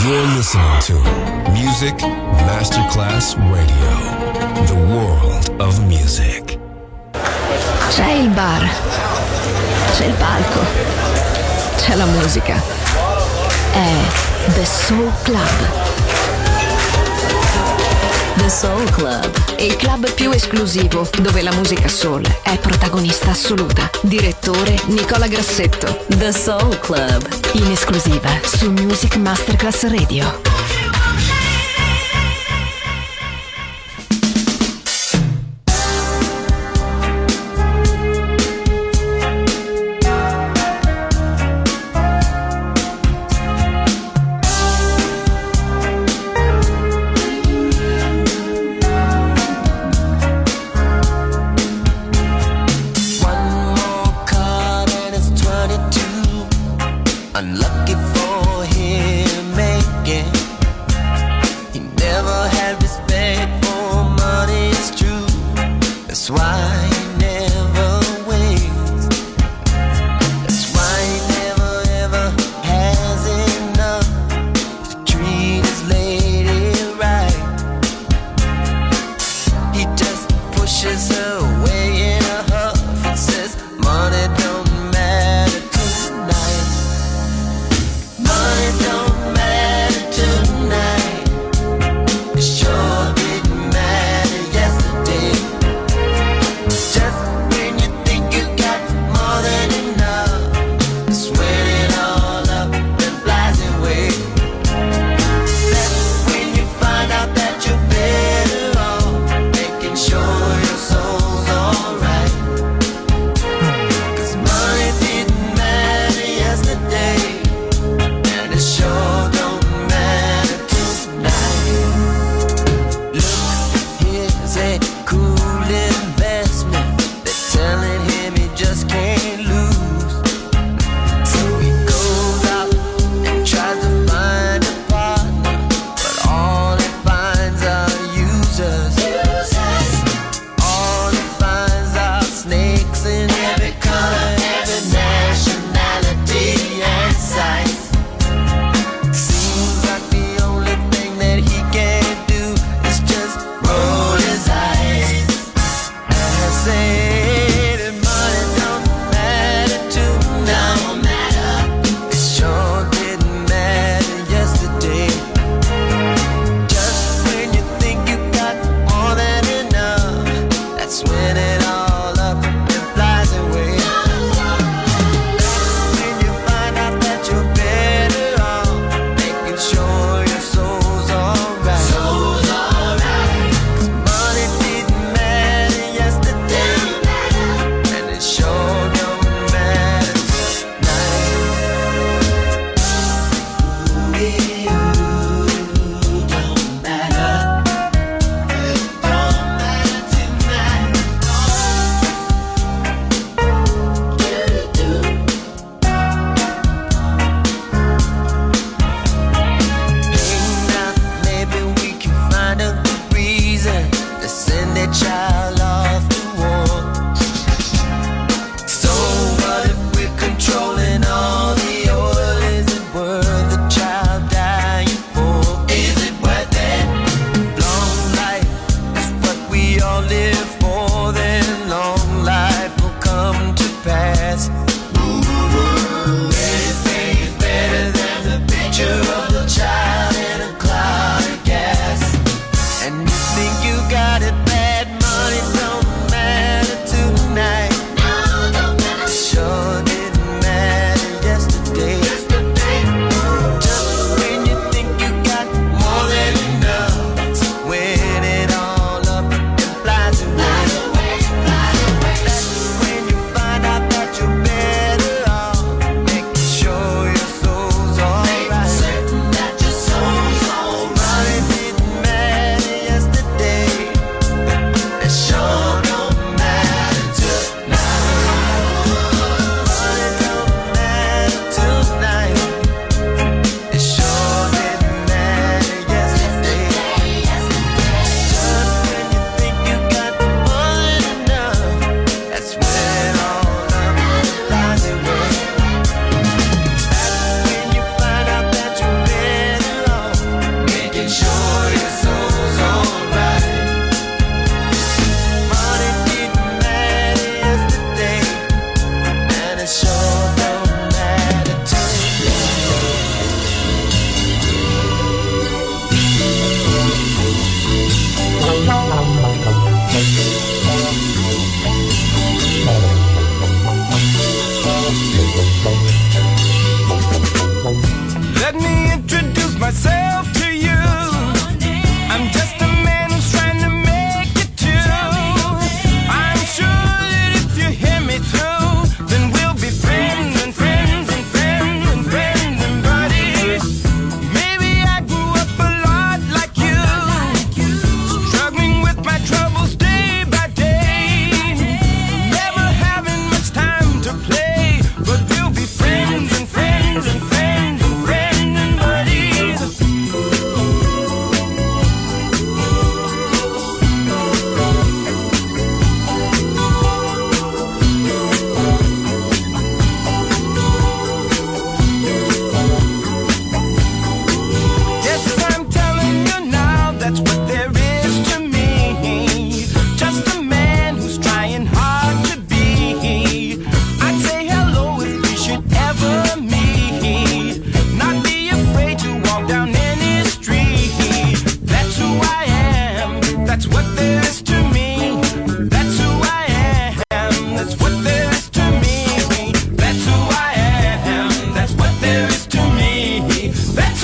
You're listening to Music Masterclass Radio, the world of music. C'è il bar, c'è il palco, c'è la musica. È The Soul Club. The Soul Club, il club più esclusivo dove la musica soul è protagonista assoluta. Direttore Nicola Grassetto. The Soul Club, in esclusiva su Music Masterclass Radio. Unlucky for him, making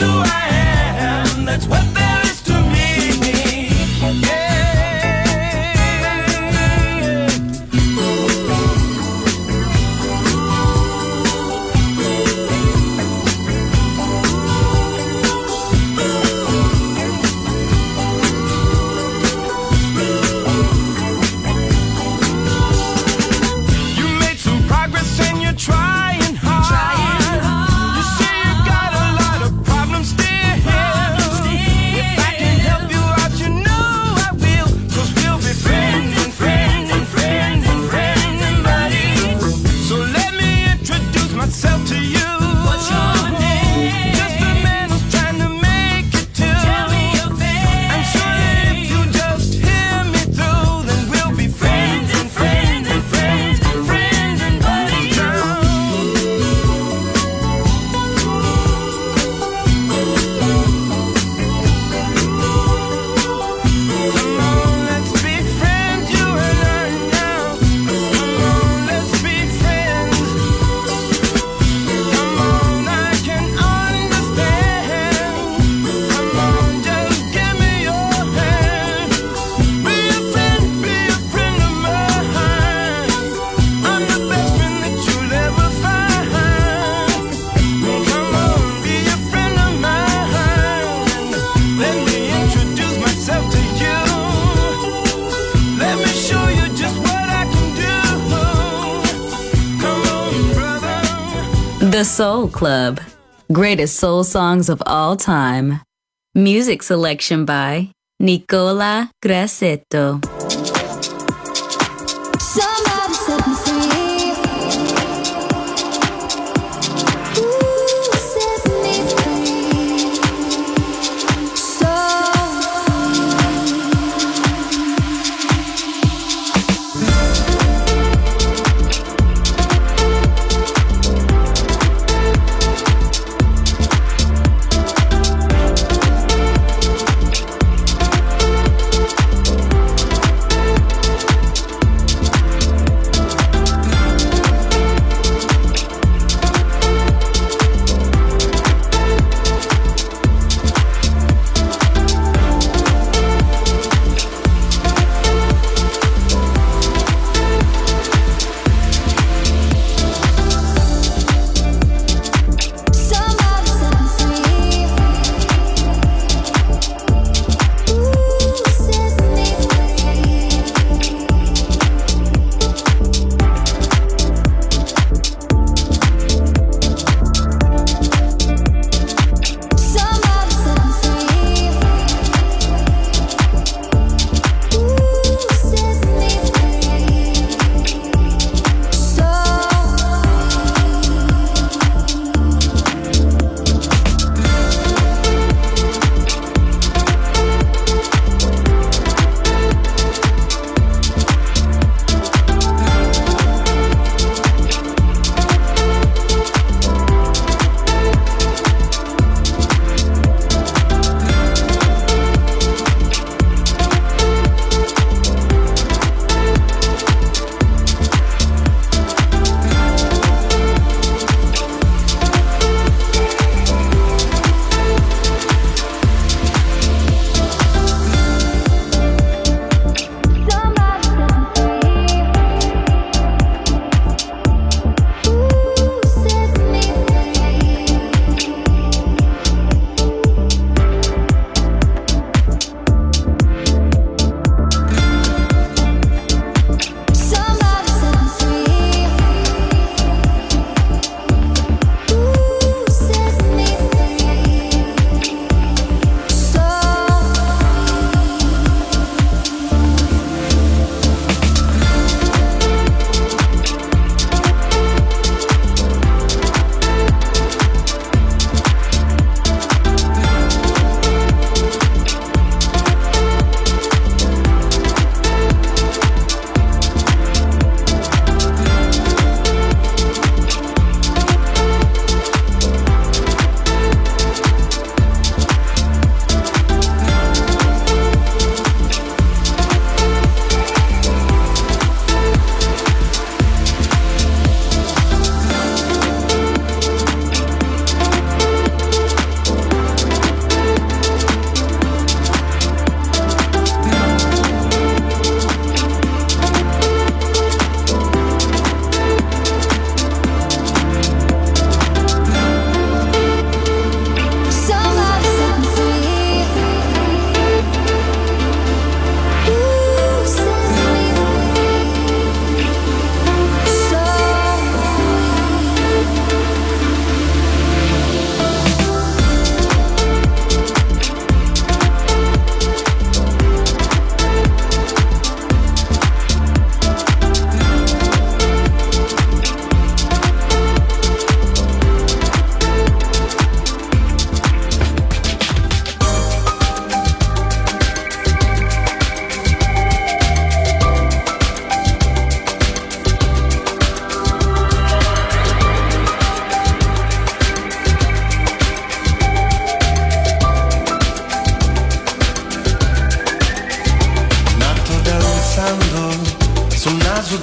who I am, that's what there is to me. Yeah. Trying hard. You say you got a lot of problems still. If I can help you out, you know I will. 'Cause we'll be friends and friends and friends and friends and buddies. So let me introduce myself to you. What's your name? Just a man who's trying to make it too. Tell me your name. I'm sure that if you just hear me through, then we'll be friends and friends and friends and friends and buddies. The Soul Club. Greatest soul songs of all time. Music selection by Nicola Grassetto. Somebody set me free. Ooh, set me free. So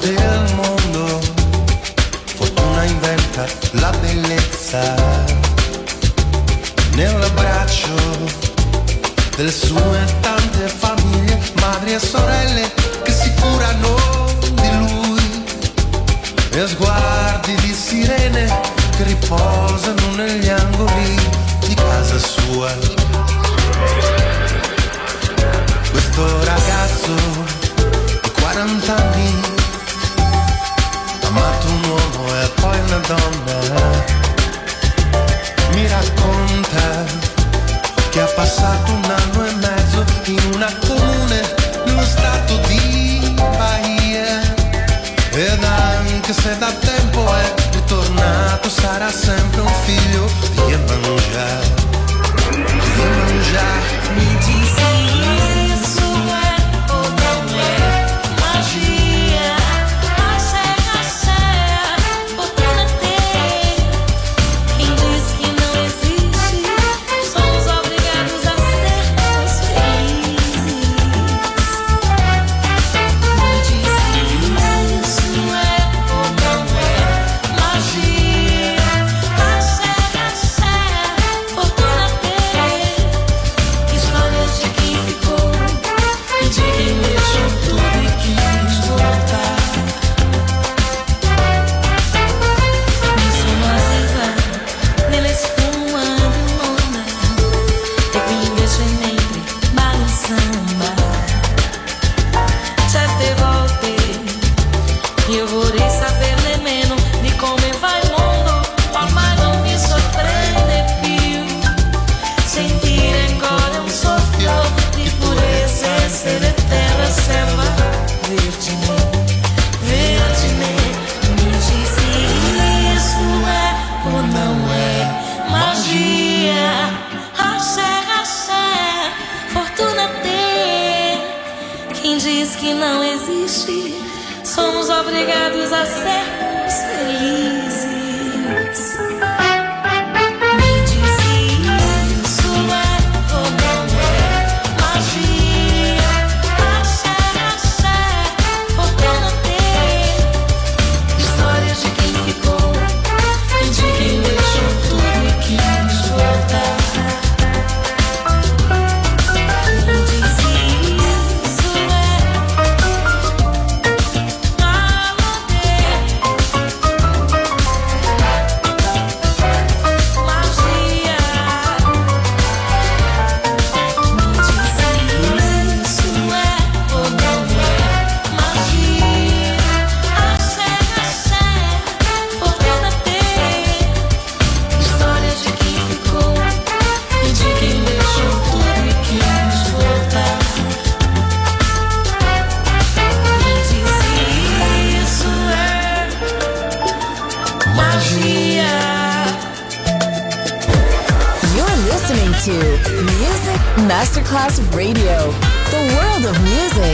del mondo. Fortuna inventa la bellezza nell'abbraccio delle sue tante famiglie, madri e sorelle che si curano di lui, e sguardi di sirene che riposano negli angoli di casa sua. Questo ragazzo di 40 anni ha amato un uomo e poi una donna. Mi racconta che ha passato 1 anno e mezzo in una comune nello stato di Bahia, ed anche se da tempo è ritornato sarà sempre un figlio di Iemanjá. Me disse isso é ou não é magia, axé, fortuna ter. Quem diz que não existe, somos obrigados a sermos felizes. Me disse isso é ou não é magia, axé, fortuna ter. História de quem ficou e de quem deixou tudo e quis voltar. Nessuno arriva nella spuma di un'onda e qui invece mentre balla in samba. Certe volte io vorrei saper nemmeno di come va il mondo, ormai non mi sorprende più sentire ancora un soffio di purezza, essere terra, selva, vergine, vergine. Mi disse isso é ou não é magia, axé, fortuna ter. Quem diz que não existe, somos obrigados a sermos felizes. Me disse isso é ou não é magia, axé, fortuna ter. Histórias de quem ficou e de quem deixou tudo e quis voltar. Me disse isso é to Music Masterclass Radio, the world of music.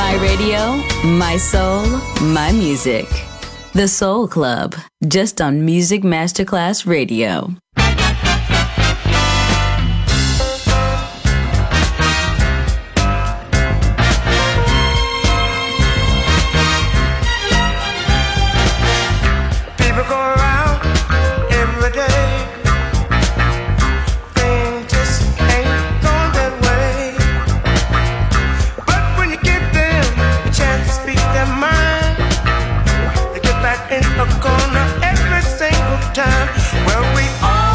My radio, my soul, my music. The Soul Club, just on Music Masterclass Radio. People go around every day. Things just ain't going that way. But when you give them a chance to speak their mind, they get back in a corner every single time. Well, we all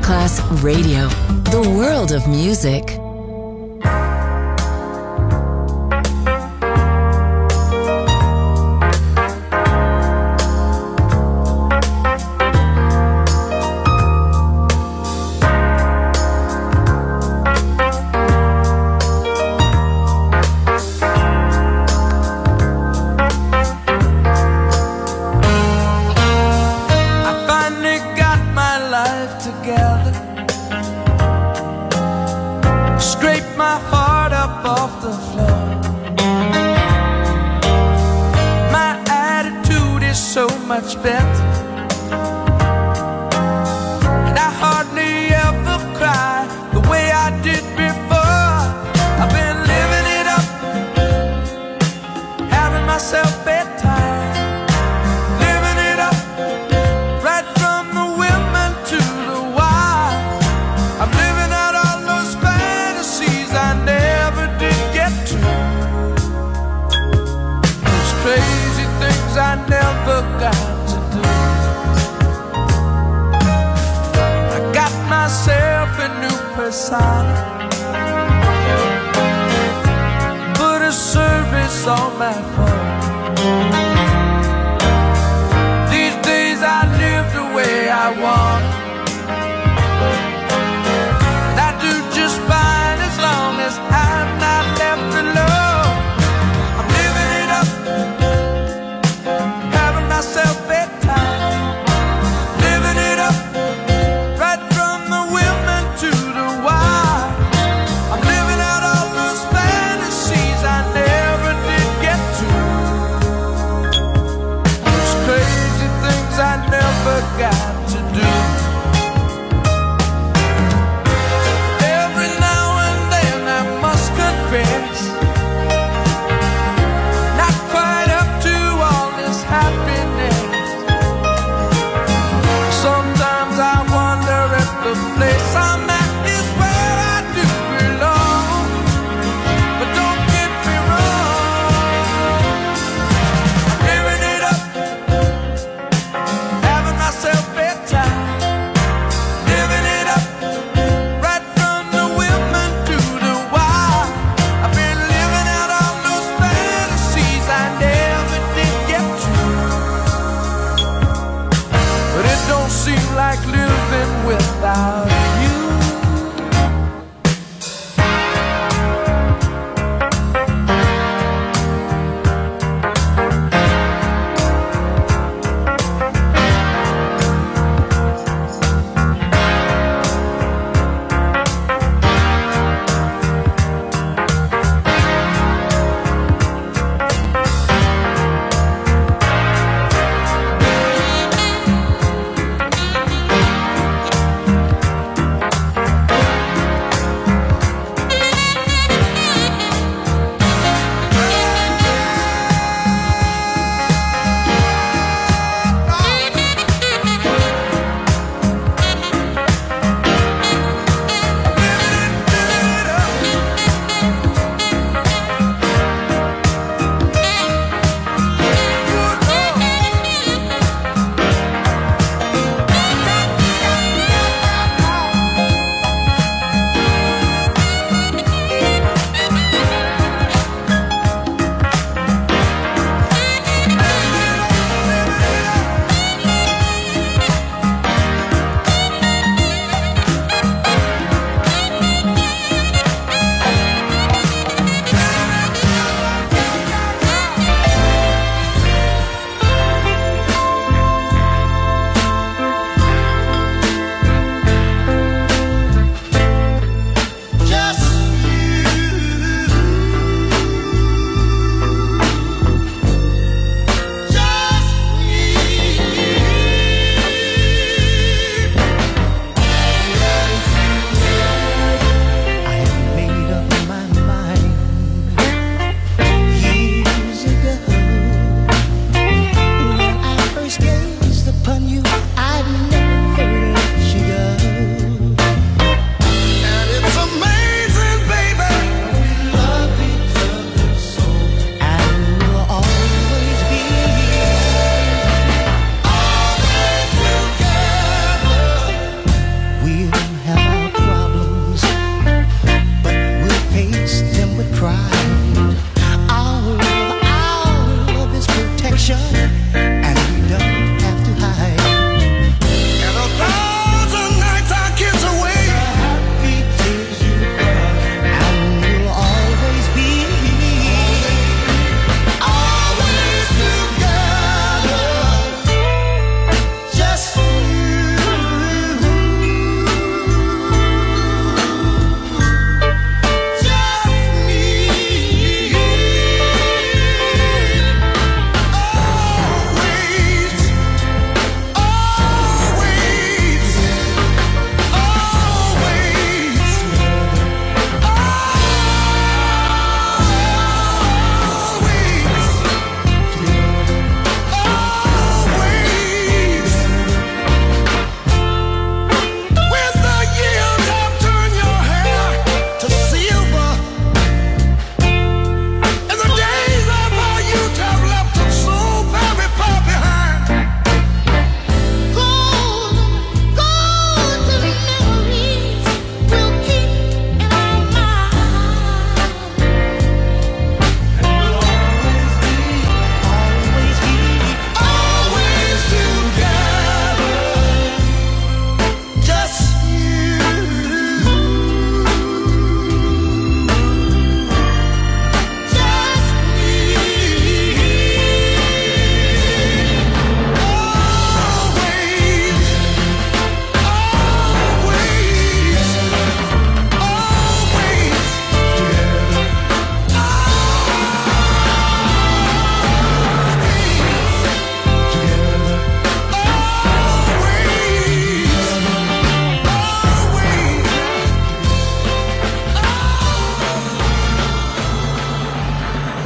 Masterclass Radio, the world of music. Much better, and I hardly ever cry the way I did before. I've been living it up, having myself bedtime, living it up, right from the women to the wild. I'm living out all those fantasies I never did get to, those crazy things I never got to do. I got myself a new persona, put a service on my phone. These days I live the way I want, and I do just fine as long as I'm not left alone. I'm living it up, myself bedtime, living it up, right from the women to the wild. I'm living out all those fantasies I never did get to.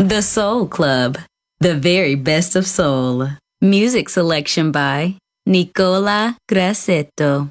The Soul Club, the very best of soul. Music selection by Nicola Grassetto.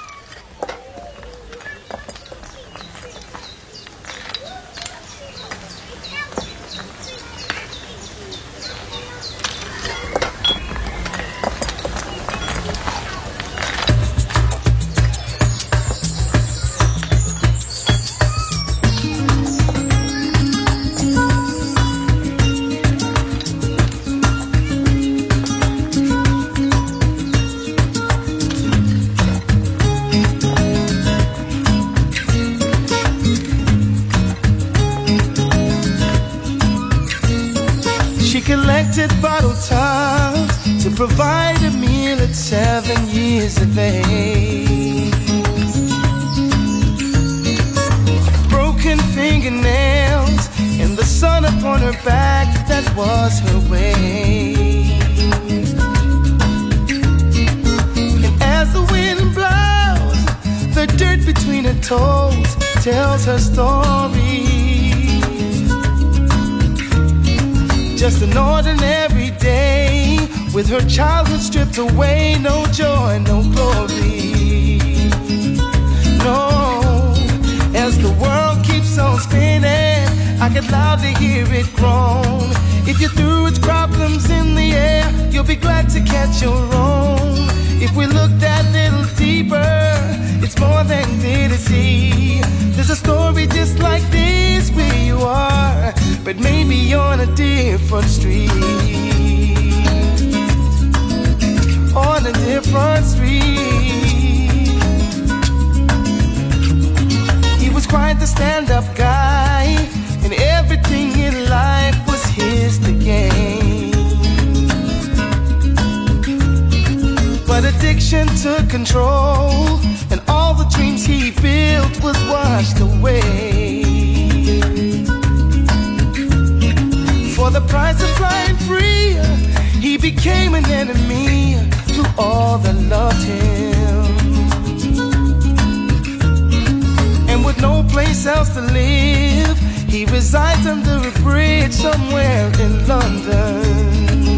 Collected bottle tops to provide a meal at 7 years of age. Broken fingernails and the sun upon her back, that was her way. And as the wind blows, the dirt between her toes tells her story. Just an ordinary day, with her childhood stripped away, no joy, no glory. No, as the world keeps on spinning, I can loudly hear it groan. If you threw its problems in the air, you'll be glad to catch your own. If we look that little deeper, it's more than clear to see. There's a story just like this where you are, but maybe on a different street. On a different street. He was quite the stand-up guy, and everything in life was his to gain. But addiction took control, and all the dreams he built was washed away. For the price of flying free, he became an enemy to all that loved him. And with no place else to live, he resides under a bridge somewhere in London.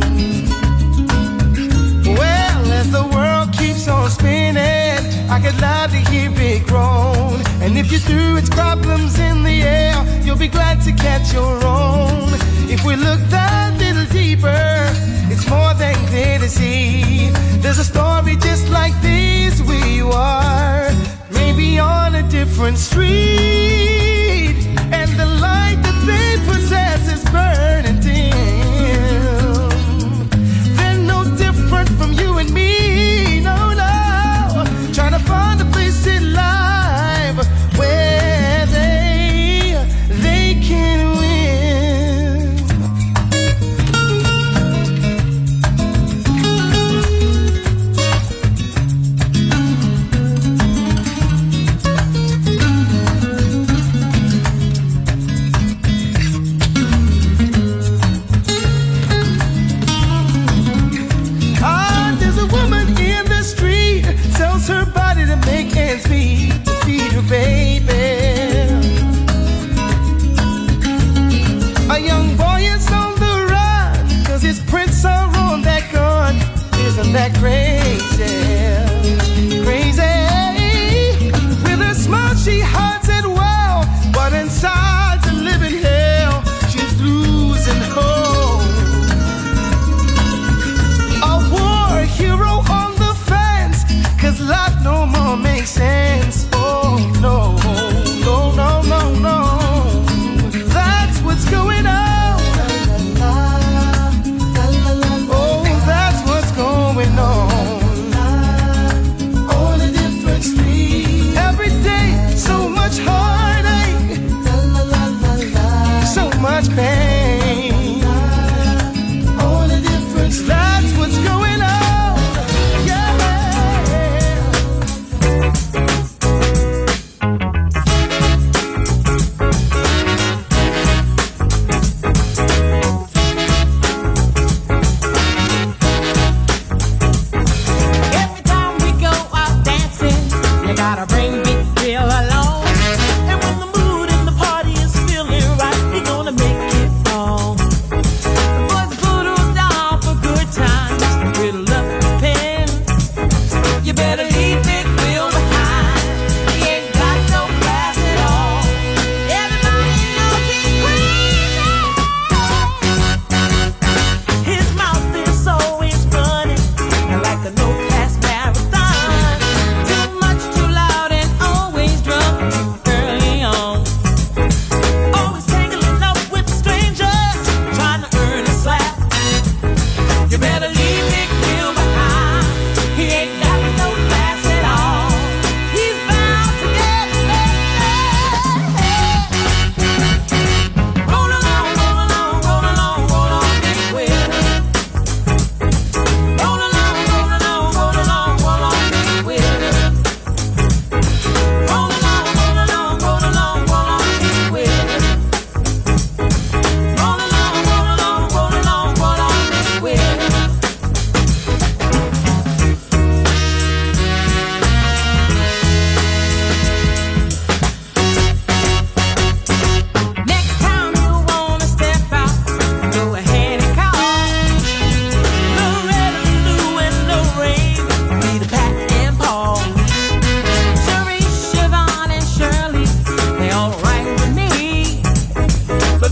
Well, as the world keeps on spinning, I can loudly hear it groan. And if you threw its problems in the air, you'll be glad to catch your own. If we look that little deeper, it's more than clear to see. There's a story just like this where you are, maybe on a different street, and the light that they possess is burning dim. They're no different from you and me, no, no. Trying to find a place in life where they can win.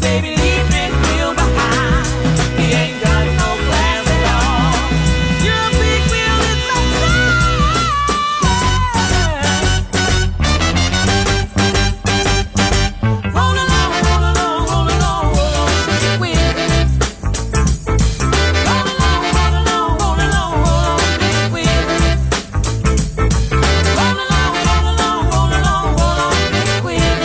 baby, leave me real behind. He ain't got no class at all. You're a big wheel in my roll along, roll along, roll along, roll on, big wheel. Roll along, roll along, roll along, roll on, big wheel. Roll along, roll along, roll along, roll on, big wheel.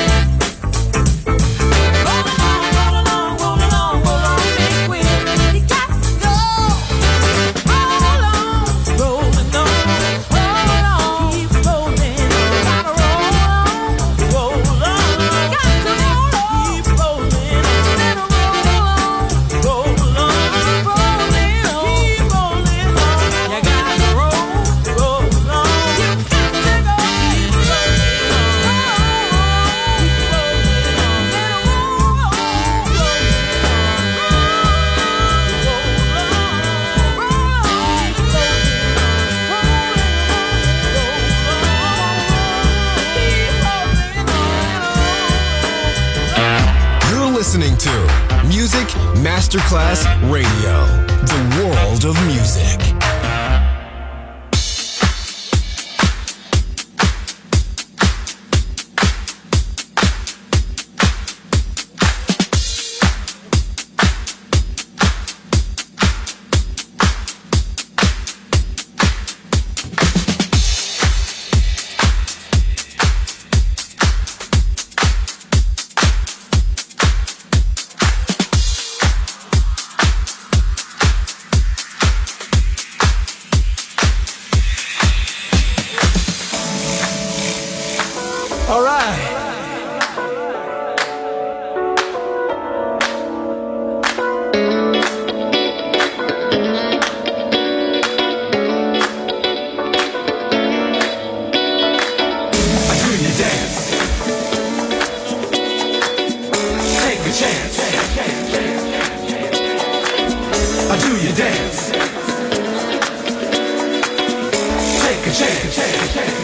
Roll along, roll along, roll along, roll on, big wheel. You got to go. Roll on, rolling on, roll on, keep rolling. Gotta roll on, roll on. Got to roll on, keep rolling. Better roll on, roll on, rolling on, keep rolling on. You gotta roll on. You got to go, keep rolling on, keep rolling on. Better roll on, You're listening to Music Masterclass Radio, the world of music. All right. I do you dance. Take a chance. I do you dance. Take a chance.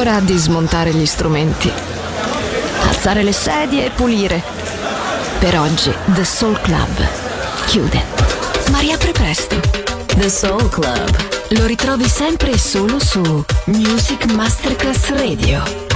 ora di smontare gli strumenti, alzare le sedie e pulire. Per oggi The Soul Club chiude, ma riapre presto. The Soul Club. Lo ritrovi sempre e solo su Music Masterclass Radio.